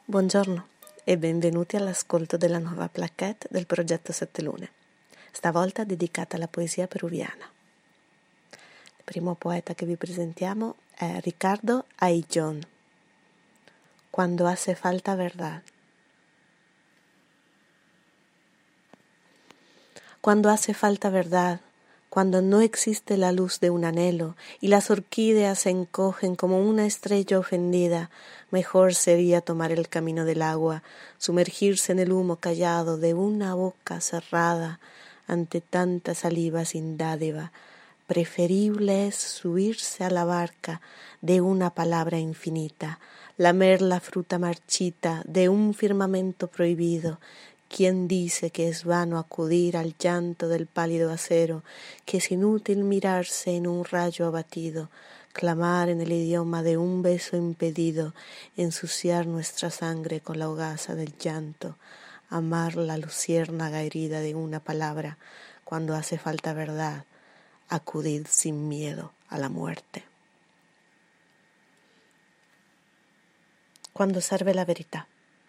Buongiorno e benvenuti all'ascolto della nuova plaquette del progetto Sette Lune, stavolta dedicata alla poesia peruviana. Il primo poeta che vi presentiamo è Ricardo Ayllón. Cuando hace falta verdad. Cuando hace falta verdad, cuando no existe la luz de un anhelo y las orquídeas se encogen como una estrella ofendida, mejor sería tomar el camino del agua, sumergirse en el humo callado de una boca cerrada ante tanta saliva sin dádiva. Preferible es subirse a la barca de una palabra infinita, lamer la fruta marchita de un firmamento prohibido. ¿Quién dice que es vano acudir al llanto del pálido acero, que es inútil mirarse en un rayo abatido, clamar en el idioma de un beso impedido, ensuciar nuestra sangre con la hogaza del llanto, amar la luciérnaga herida de una palabra, cuando hace falta verdad, acudid sin miedo a la muerte? Quando serve la verità.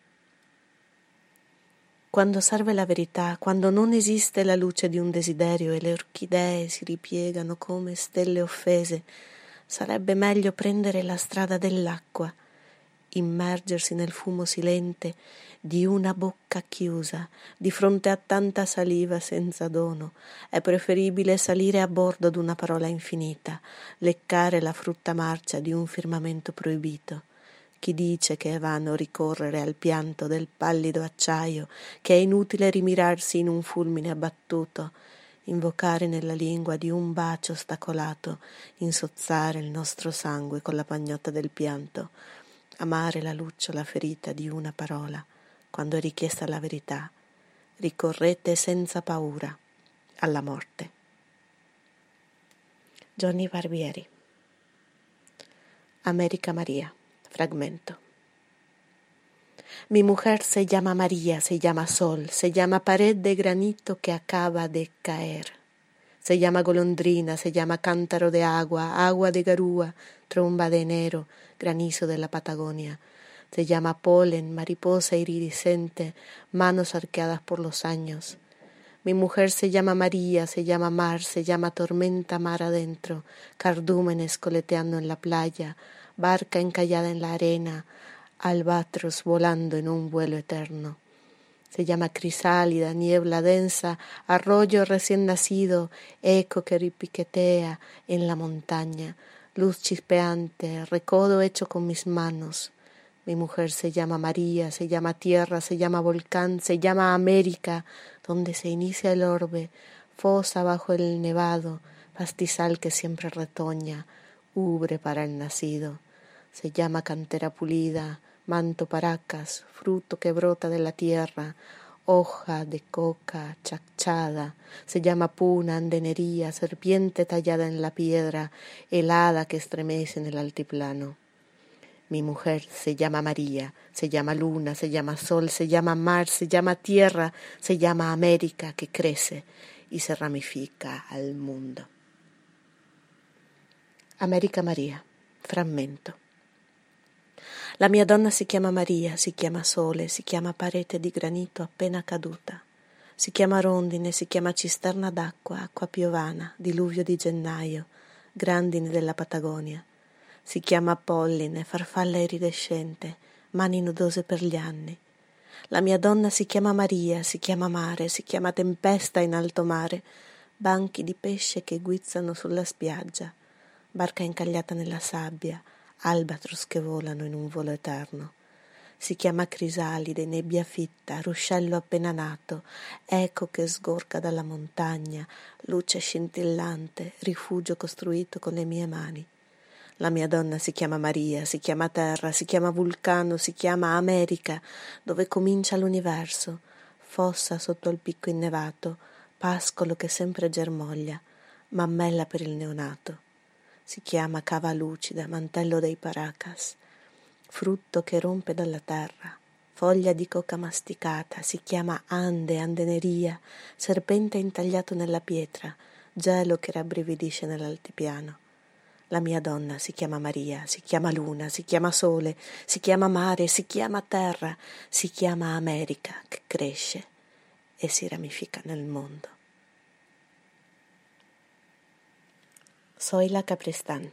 Quando serve la verità, quando non esiste la luce di un desiderio e le orchidee si ripiegano come stelle offese, sarebbe meglio prendere la strada dell'acqua, immergersi nel fumo silente di una bocca chiusa, di fronte a tanta saliva senza dono. È preferibile salire a bordo d'una parola infinita, leccare la frutta marcia di un firmamento proibito. Chi dice che è vano ricorrere al pianto del pallido acciaio, che è inutile rimirarsi in un fulmine abbattuto, invocare nella lingua di un bacio ostacolato, insozzare il nostro sangue con la pagnotta del pianto, amare la lucciola ferita di una parola, quando è richiesta la verità, ricorrete senza paura alla morte. Johnny Barbieri. América María. Fragmento. Mi mujer se llama María, se llama sol, se llama pared de granito que acaba de caer. Se llama golondrina, se llama cántaro de agua, agua de garúa, tromba de enero, granizo de la Patagonia. Se llama polen, mariposa iridiscente, manos arqueadas por los años. Mi mujer se llama María, se llama mar, se llama tormenta mar adentro, cardúmenes coleteando en la playa, barca encallada en la arena, albatros volando en un vuelo eterno. Se llama crisálida, niebla densa, arroyo recién nacido, eco que repiquetea en la montaña, luz chispeante, recodo hecho con mis manos. Mi mujer se llama María, se llama tierra, se llama volcán, se llama América, donde se inicia el orbe, fosa bajo el nevado, pastizal que siempre retoña, ubre para el nacido. Se llama cantera pulida, manto paracas, fruto que brota de la tierra, hoja de coca chachada. Se llama puna, andenería, serpiente tallada en la piedra, helada que estremece en el altiplano. Mi mujer se llama María, se llama luna, se llama sol, se llama mar, se llama tierra, se llama América que crece y se ramifica al mundo. América María. Frammento. La mia donna si chiama Maria, si chiama sole, si chiama parete di granito appena caduta, si chiama rondine, si chiama cisterna d'acqua, acqua piovana, diluvio di gennaio, grandine della Patagonia, si chiama polline, farfalla iridescente, mani nudose per gli anni. La mia donna si chiama Maria, si chiama mare, si chiama tempesta in alto mare, banchi di pesce che guizzano sulla spiaggia, barca incagliata nella sabbia, albatros che volano in un volo eterno. Si chiama crisalide, nebbia fitta, ruscello appena nato, eco che sgorga dalla montagna, luce scintillante, rifugio costruito con le mie mani. La mia donna si chiama Maria, si chiama terra, si chiama vulcano, si chiama America, dove comincia l'universo, fossa sotto il picco innevato, pascolo che sempre germoglia, mammella per il neonato. Si chiama cava lucida, mantello dei paracas, frutto che rompe dalla terra, foglia di coca masticata, si chiama ande, andeneria, serpente intagliato nella pietra, gelo che rabbrividisce nell'altipiano. La mia donna si chiama Maria, si chiama luna, si chiama sole, si chiama mare, si chiama terra, si chiama America, che cresce e si ramifica nel mondo. Zoila Caprestán.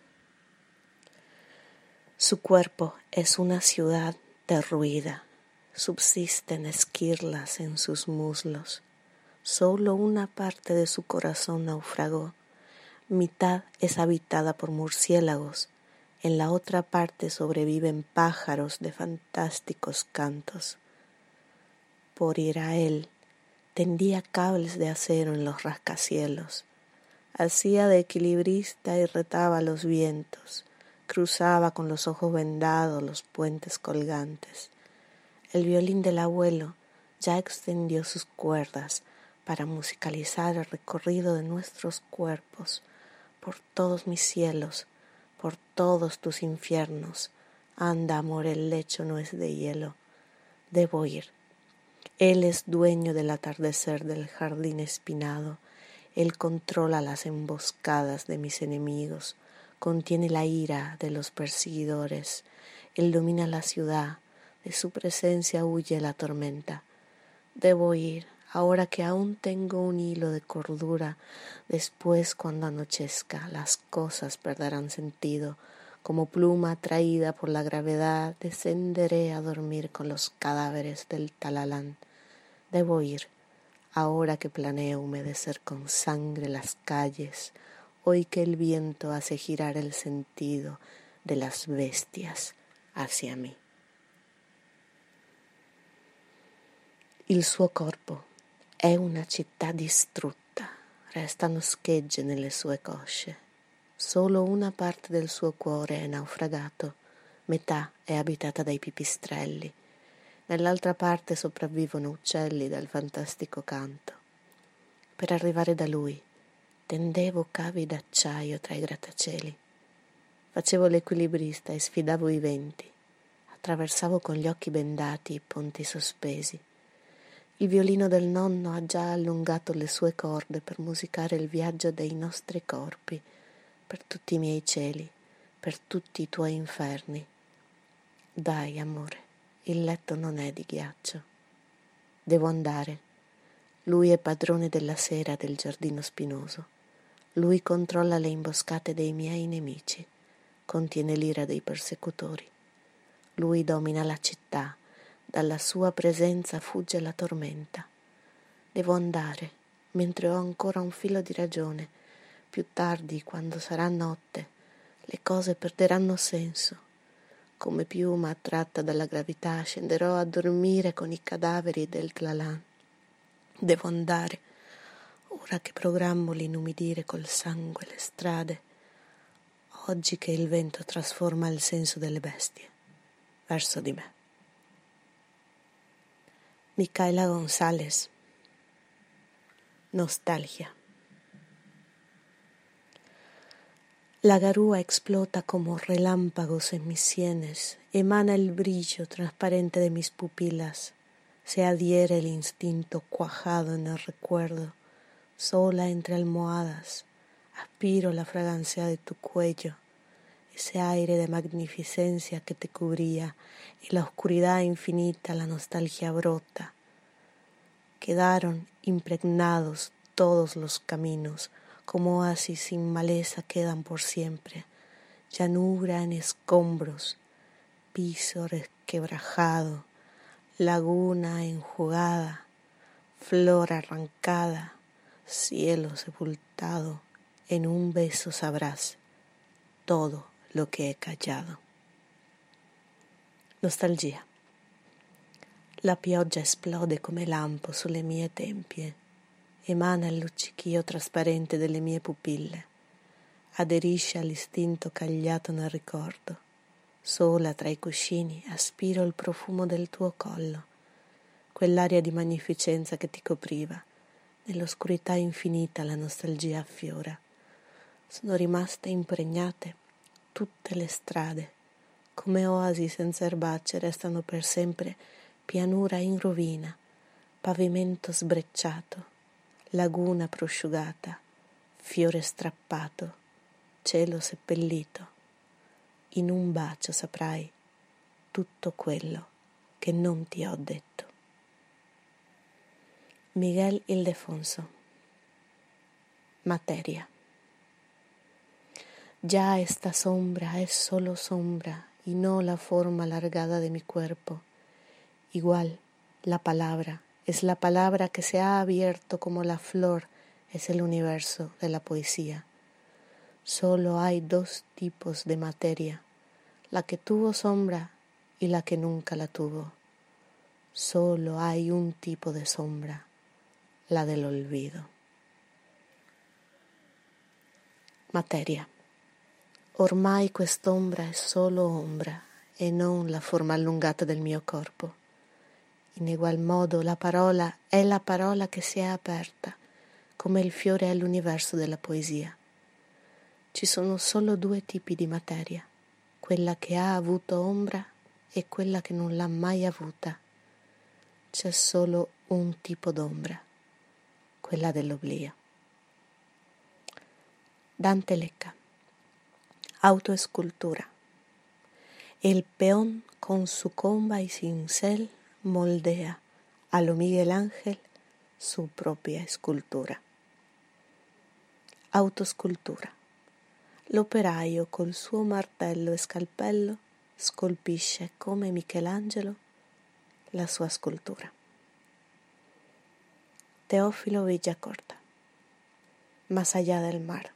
Su cuerpo es una ciudad derruida, subsisten esquirlas en sus muslos. Solo una parte de su corazón naufragó. Mitad es habitada por murciélagos, en la otra parte sobreviven pájaros de fantásticos cantos. Por ir a él, tendía cables de acero en los rascacielos, hacía de equilibrista y retaba los vientos, cruzaba con los ojos vendados los puentes colgantes. El violín del abuelo ya extendió sus cuerdas para musicalizar el recorrido de nuestros cuerpos, por todos mis cielos, por todos tus infiernos. Anda, amor, el lecho no es de hielo. Debo ir. Él es dueño del atardecer del jardín espinado. Él controla las emboscadas de mis enemigos, contiene la ira de los perseguidores. Él domina la ciudad, de su presencia huye la tormenta. Debo ir. Ahora que aún tengo un hilo de cordura, después cuando anochezca las cosas perderán sentido. Como pluma atraída por la gravedad, descenderé a dormir con los cadáveres del Talalán. Debo ir, ahora que planeo humedecer con sangre las calles, hoy que el viento hace girar el sentido de las bestias hacia mí. Il suo corpo è una città distrutta, restano schegge nelle sue cosce. Solo una parte del suo cuore è naufragato, metà è abitata dai pipistrelli, nell'altra parte sopravvivono uccelli dal fantastico canto. Per arrivare da lui tendevo cavi d'acciaio tra i grattacieli, facevo l'equilibrista e sfidavo i venti, attraversavo con gli occhi bendati i ponti sospesi. Il violino del nonno ha già allungato le sue corde per musicare il viaggio dei nostri corpi, per tutti i miei cieli, per tutti i tuoi inferni. Dai, amore, il letto non è di ghiaccio. Devo andare. Lui è padrone della sera del giardino spinoso. Lui controlla le imboscate dei miei nemici, contiene l'ira dei persecutori. Lui domina la città. Dalla sua presenza fugge la tormenta. Devo andare, mentre ho ancora un filo di ragione. Più tardi, quando sarà notte, le cose perderanno senso. Come piuma attratta dalla gravità, scenderò a dormire con i cadaveri del Tlalan. Devo andare, ora che programmo l'inumidire col sangue le strade, oggi che il vento trasforma il senso delle bestie verso di me. Micaela González. Nostalgia. La garúa explota como relámpagos en mis sienes, emana el brillo transparente de mis pupilas, se adhiere el instinto cuajado en el recuerdo, sola entre almohadas, aspiro la fragancia de tu cuello, ese aire de magnificencia que te cubría, y la oscuridad infinita la nostalgia brota. Quedaron impregnados todos los caminos, como oasis sin maleza quedan por siempre, llanura en escombros, piso resquebrajado, laguna enjugada, flor arrancada, cielo sepultado, en un beso sabrás todo lo che è callado. Nostalgia. La pioggia esplode come lampo sulle mie tempie, emana il luccichio trasparente delle mie pupille, aderisce all'istinto cagliato nel ricordo. Sola tra i cuscini aspiro il profumo del tuo collo, quell'aria di magnificenza che ti copriva. Nell'oscurità infinita la nostalgia affiora. Sono rimaste impregnate tutte le strade, come oasi senza erbacce restano per sempre pianura in rovina, pavimento sbrecciato, laguna prosciugata, fiore strappato, cielo seppellito, in un bacio saprai tutto quello che non ti ho detto. Miguel Ildefonso. Materia. Ya esta sombra es solo sombra y no la forma alargada de mi cuerpo. Igual, la palabra es la palabra que se ha abierto como la flor es el universo de la poesía. Solo hay dos tipos de materia, la que tuvo sombra y la que nunca la tuvo. Solo hay un tipo de sombra, la del olvido. Materia. Ormai quest'ombra è solo ombra e non la forma allungata del mio corpo. In egual modo la parola è la parola che si è aperta, come il fiore è l'universo della poesia. Ci sono solo due tipi di materia, quella che ha avuto ombra e quella che non l'ha mai avuta. C'è solo un tipo d'ombra, quella dell'oblio. Dante Lecca. Autoescultura. El peón con su comba y cincel moldea a lo Miguel Ángel su propria escultura. Autoscultura. L'operaio col suo martello e scalpello scolpisce come Michelangelo la sua scultura. Teófilo Villacorta. Más allá del mar.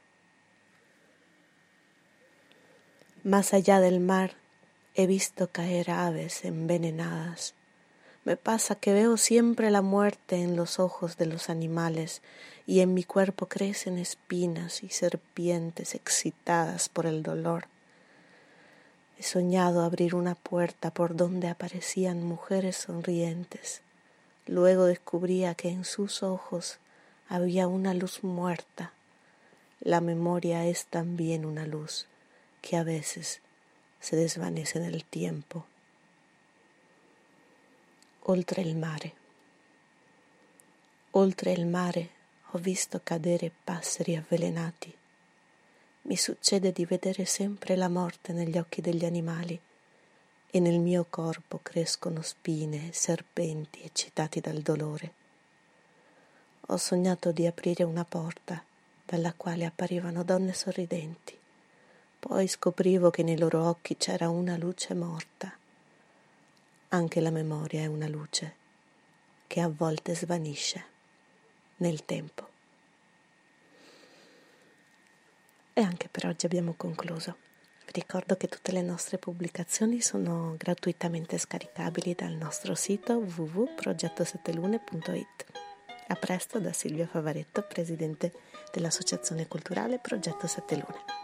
Más allá del mar he visto caer aves envenenadas. Me pasa que veo siempre la muerte en los ojos de los animales y en mi cuerpo crecen espinas y serpientes excitadas por el dolor. He soñado abrir una puerta por donde aparecían mujeres sonrientes. Luego descubría que en sus ojos había una luz muerta. La memoria es también una luz que a veces se desvanece nel tiempo. Oltre il mare. Oltre il mare ho visto cadere passeri avvelenati. Mi succede di vedere sempre la morte negli occhi degli animali e nel mio corpo crescono spine e serpenti eccitati dal dolore. Ho sognato di aprire una porta dalla quale apparivano donne sorridenti. Poi scoprivo che nei loro occhi c'era una luce morta. Anche la memoria è una luce che a volte svanisce nel tempo. E anche per oggi abbiamo concluso. Vi ricordo che tutte le nostre pubblicazioni sono gratuitamente scaricabili dal nostro sito www.progettosettelune.it. A presto da Silvia Favaretto, presidente dell'Associazione Culturale Progetto Sette Lune.